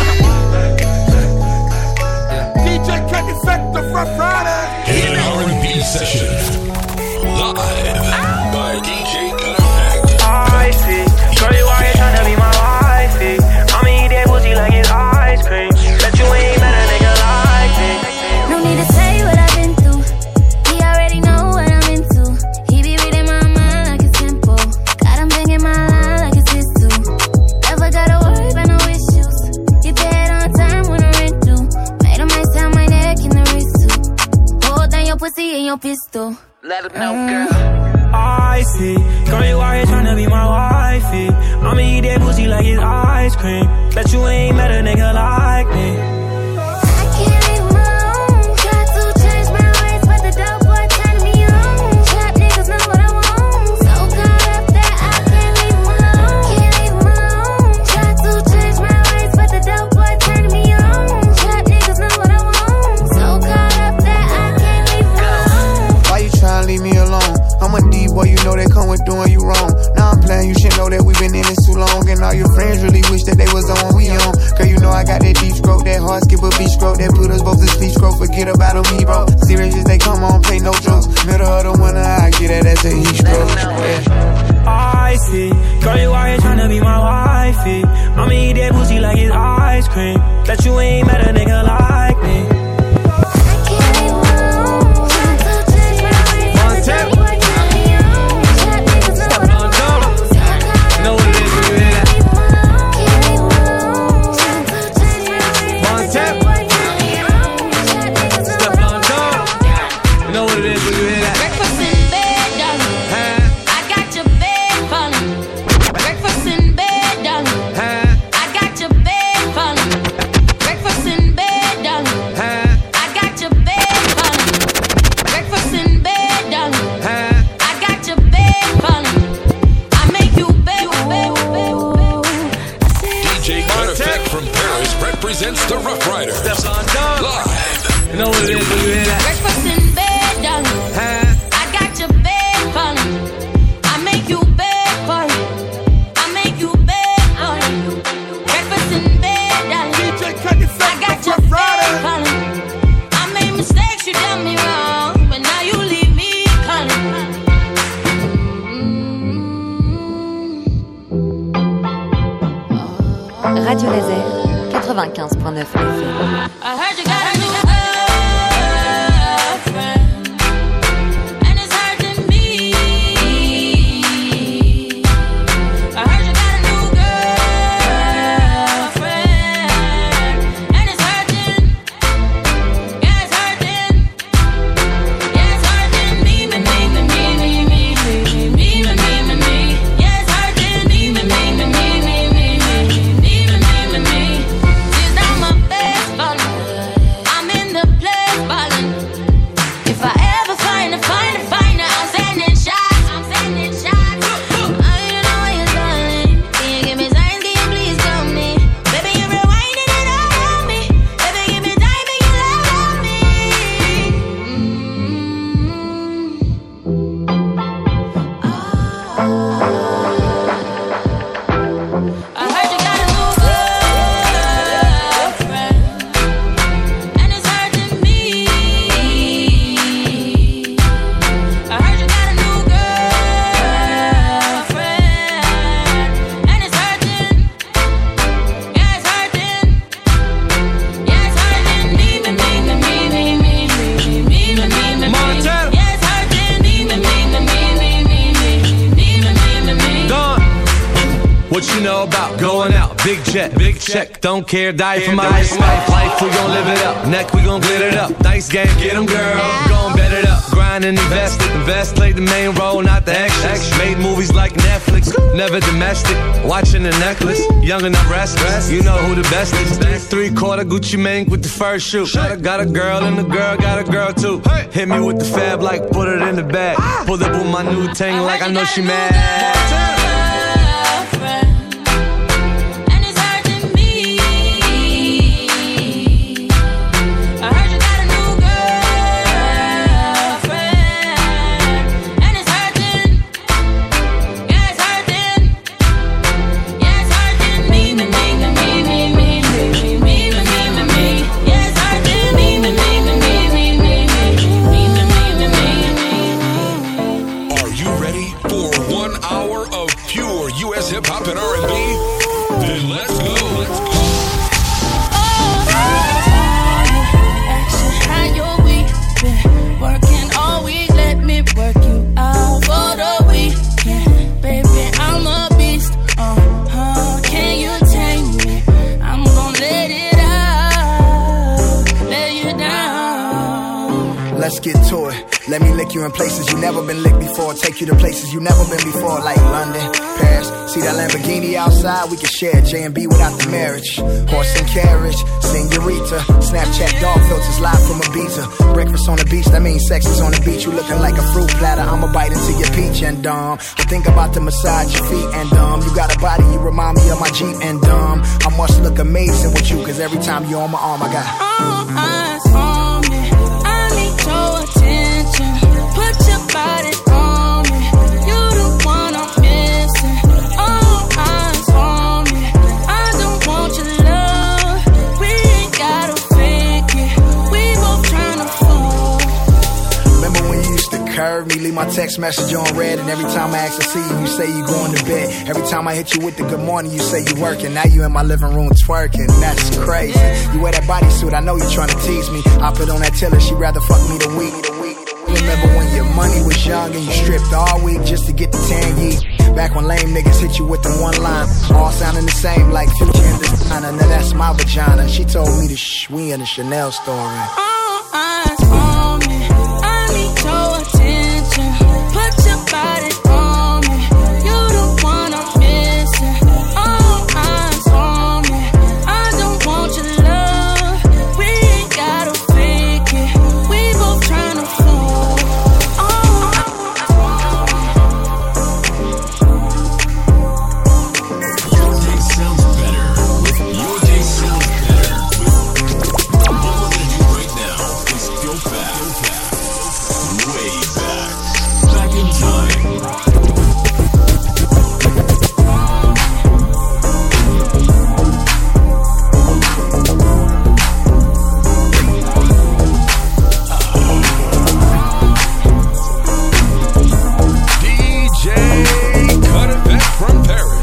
bit. D J Cut Effect, the Rough Rider. An R and B session. Live by D J Cut Effect. I see. Shorty, why you tryna be my wifey? I'ma eat that pussy like it's ice cream. Bet you ain't met a nigga like me. No need to say what I've been through. He already know what I'm into. I see. Girl, you out here tryna be my wifey. I'ma eat that pussy like it's ice cream. Bet you ain't met a nigga like me. Boy, you know they come with doing you wrong. Now I'm playing, you should know that we've been in this too long. And all your friends really wish that they was on what we on. Girl, you know I got that deep stroke, that hard skip a beat stroke, that put us both to sleep stroke. Forget about them, he bro. Serious as they come on, play no jokes. Middle of the winter, I get that, that's a heat stroke. Yeah. I see. Girl, you out here tryna be my wifey. I'ma eat that pussy like it's ice cream. Bet you ain't met a nigga like me. Represents the Rough Rider. Steps on dog. Live. You know what it is when you hear that? Breakfast in bed, darling. Huh? I got your bed falling. I make you bed falling. I make you bed falling. Breakfast in bed, darling. D J cut your I got your bed falling. I made mistakes, you done me wrong, but now you leave me calling. Radio Laser quatre-vingt-quinze point neuf F M. I heard you got a new girlfriend, and it's hurting me. I heard you got a new girlfriend, and it's hurting. Yeah, it's hurting. Yeah, it's hurting me, me, me, me, me, me, me, me, me, me, me, me, me. Yeah, it's hurting me, me, me, me, me, me, me, me, me, me, me, me. I'm in the place ballin'. If I ever find a, find a, find a, I'm sending shots. I'm sending shots. Oh, you know what you're darling. Can you give me signs? Can you please tell me? Baby, you're rewinding it all on me. Baby, give me time and you love on me. Mm-hmm. Oh. I heard you got a new girlfriend. What you know about going out? Big jet, big check, don't care, die for my life. Life, we gon' live it up. Neck, we gon' glitter it up. Nice game, get 'em, girl. Gon' bet it up. Grind and invest it. Invest, played the main role, not the extras. Made movies like Netflix, never domestic. Watching the necklace, young and I'm restless. You know who the best is. Three quarter Gucci Mane with the first shoe. Got a, got a girl and the girl got a girl too. Hit me with the fab like put it in the bag. Pulled up with my new ting like I know she mad. Hip-hop and R and B? Then let's go. Let's go. How your week been? Working all week, let me work you out for the weekend. Baby, I'm a beast. Uh-huh. Can you take me? I'm gonna let it out. Let you down. Let's get to it. Let me lick you you in places you never been licked before. Take you to places you never been before, like London, Paris. See that Lamborghini outside? We can share J and B without the marriage. Horse and carriage, senorita. Snapchat dog filters live from Ibiza. Breakfast on the beach, that means sex is on the beach. You looking like a fruit platter, I'ma bite into your peach and um I think about to massage your feet and um you got a body, you remind me of my Jeep and um I must look amazing with you, cause every time you're on my arm I got all eyes on me, I need your attention. Put your body on me, you the one I'm missing. All eyes on me, I don't want your love. We ain't gotta fake it, we both tryna fall. Remember when you used to curve me, leave my text message on red, and every time I ask to see you, you say you going to bed. Every time I hit you with the good morning, you say you working. Now you in my living room twerking, that's crazy. You wear that bodysuit, I know you trying to tease me. I put on that tiller, she rather fuck me the week. Remember when your money was young and you stripped all week just to get the tan yeet. Back when lame niggas hit you with the one line, all sounding the same like Future and Designer. Now that's my vagina. She told me to shh, we in a Chanel store. All eyes on me, I need your attention. Put your body on me, you the one I'm missing. All eyes on me, I don't want your love. We ain't gotta fake it, we both tryna fall. All Your day sounds better with Your Day Sounds Better with what we're gonna do right now is go back, way back, back in time. D J Cutterback from Paris.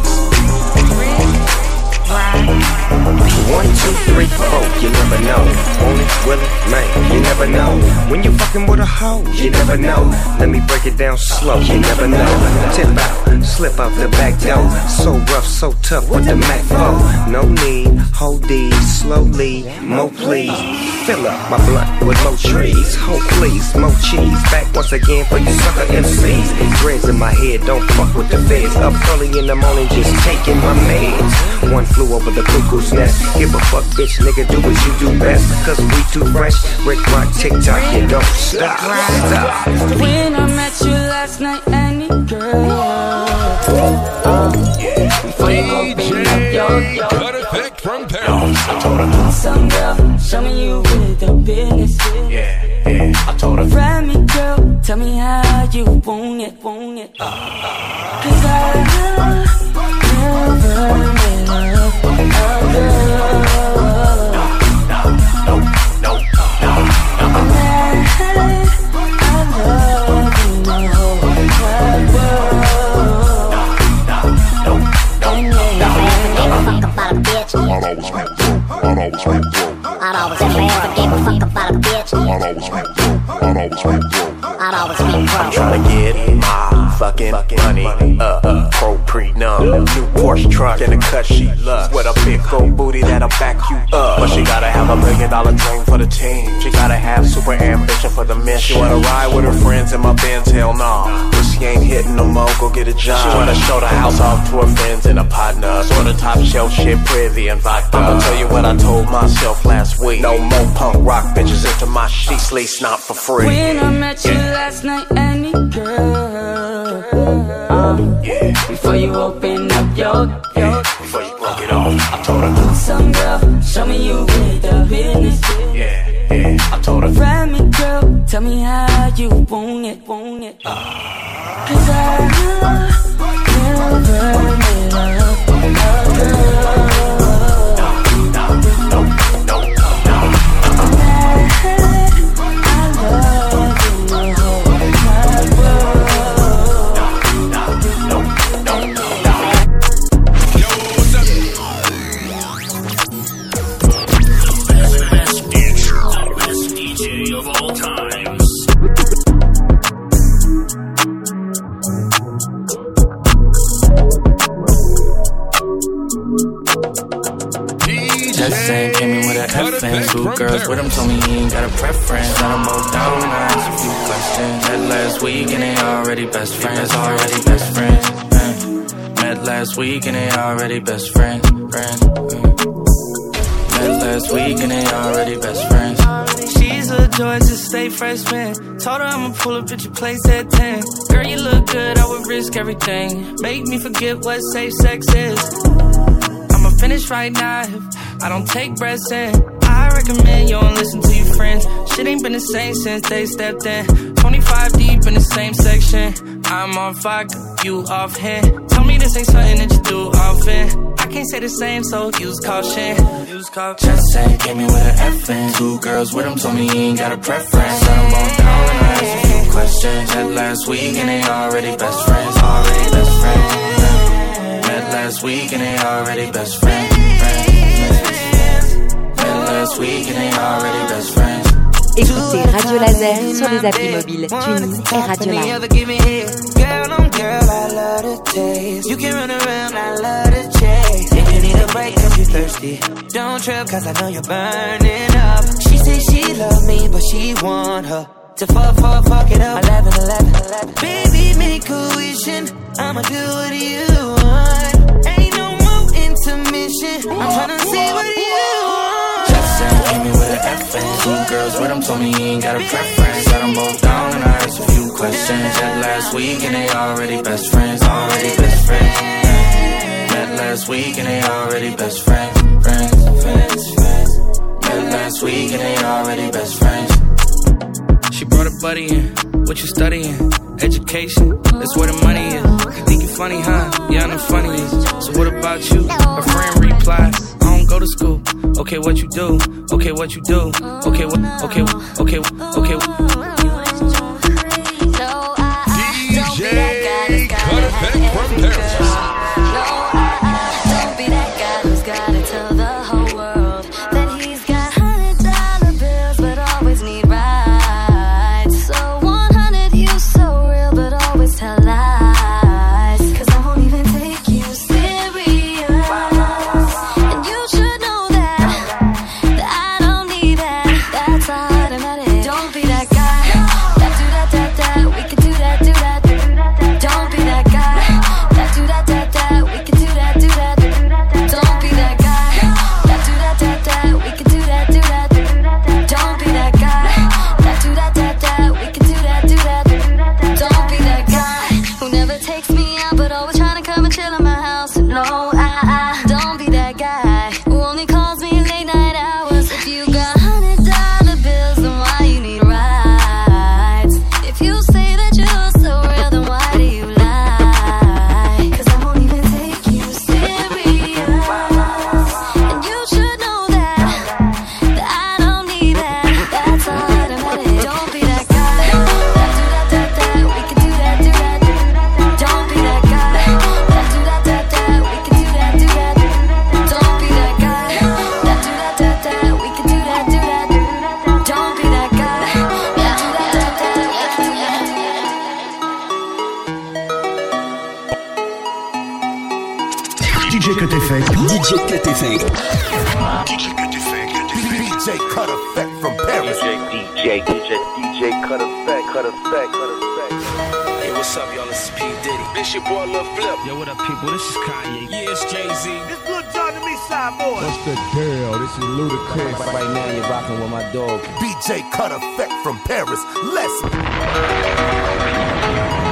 One, two, three, four, you never know. Want it, will it, man, you never know. When you fucking with a hoe, you never know. Let me break it down slow, you never know. Tip out, slip out the back door. So rough, so tough with the Mac four. No need, hold these, slowly, mo please. Fill up my blunt with more trees. Hold please, more cheese. Back once again for you sucker M Cs. Dreads in my head, don't fuck with the feds. Up early in the morning, just taking my meds. One flew over the cuckoo's nest. Give a fuck, bitch, nigga, do what you do best. Cause we too fresh. Rick Rock, TikTok, you don't stop. Stop. When I met you last night, any girl, uh, yeah. Before you open up your, your Cutterback from Paris. I told her, some girl, show me you with the business. Yeah, yeah. I told her, grab me, girl, tell me how you want it, want it. Uh, Cause I never met a girl. No, no, no, no, no, no. I'd always be broke, I'd always be broke. I'd always never give a fuck about a bitch. I'd always be broke, I'd always be broke. I'd always be broke. I'm tryna get my fucking money up, uh, pro pre-numb. New Porsche truck and a cut she loves. With a big old booty that'll back you up. But she gotta have a million dollar dream for the team. She gotta have super ambition for the mission. She wanna ride with her friends in my Benz, hell nah. But she ain't hitting no more, go get a job. She wanna show the house off to her friends and a partner. So the top shelf shit, privy and vodka. I'ma tell you what I told myself last week. No more punk rock bitches into my sheets, least not for free. When I met you last night, any girl, uh, yeah. Before you open up your, your before you broke it off, I told her, some girl, show me you with the business. Yeah, yeah. I told her, grab me, girl, tell me how you want it, want it. Uh, Cause I never met a girl. Two girls with him told me he ain't got a preference. Let him both down nice. If you questions. Met last week and they already best friends, already best friends. Uh, met last week and they already best friends, friends. Uh, met last week and they already best friends. She's a joy to stay freshman. Told her I'ma pull up at your place at ten. Girl, you look good, I would risk everything. Make me forget what safe sex is. I'ma finish right now if I don't take breaths in. I recommend you don't listen to your friends. Shit ain't been the same since they stepped in. twenty-five deep in the same section. I'm on fire, you off hand. Tell me this ain't something that you do often. I can't say the same, so use caution. Use caution. Just say, came me with an F in. Two girls with him told me he ain't got a preference. Set them both down and I asked a few questions. Met last week and they already best friends. Already best friends. Met last week and they already best friends. Met last week and they already best friends. Écoutez Radio Laser sur les applis mobiles TuneIn et Radio Live. Girl, I'm girl, I love the taste. You can run around, I love the chase. If you need a break cause you're thirsty, don't trip cause I know you're burning up. She say she love me but she want her to fuck, fuck, fuck it up. eleven, eleven, eleven. Baby, make a wish and I'ma do what you want. Ain't no more intermission, I'm tryna see what you want. Came me with an F in. Two girls with him told me he ain't got a preference. Set them both down and I asked a few questions. Met last week and they already best friends. Already best friends. Met last week and they already best friends. Friends, friends, friends. Met last week and they already best friends. She brought a buddy in. What you studying? Education. That's where the money is. You think you funny, huh? Yeah, I know funny is. So what about you? Her friend replied, I don't go to school. Okay, what you do? Okay, what you do? Okay, what? Okay, okay, okay. D J Cut Effect from Paris. No, I, I don't be that guy who's gotta tell the whole world that he's got hundred dollar bills but always need rides. So one hundred you so real but always tell lies. Cause I won't even take you serious. And you should know that, that I don't need that. That's automatic. Don't be that guy. That do that, that, that. We can do that, do that. Don't be that guy. That do that, that, that. We can do that, do that. Don't be that guy. That do that, that, that. We can do that, do that. Don't be that guy. That do that, that, that. We can do that, do that. Don't be that guy who never takes me out but always trying to come and chill in my house. No, I, I don't be that guy who only calls me late night hours. If you got hundred dollar bills, then why you need rides? If you say that you're so real, then why do you lie? Cause I won't even take you serious. And you should know that, that I don't need that. That's automatic. Don't be that guy. That do that, that, that. We can do that, do that. Don't be that guy. That do that, that, that. We can do that, do that. Don't be that guy. That do that, that, that. We can do that, do that. Don't be that guy. That do that, that, that. We can do that, do that. D J Cut Effect. D J Cut Effect. D J Cut Effect. D J Cut Effect from Paris. D J, D J, D J Cut Effect, Cut Effect, Cut Effect. Hey, what's up, y'all? This is P. Diddy. This your boy Lil Flip. Yo, what up, people? This is Kanye. Yeah, it's Jay-Z. This Lil Jon and me, Side Boy. What's the deal? This is Ludacris. Right, right now you're rocking with my dog. D J Cut Effect from Paris. Let's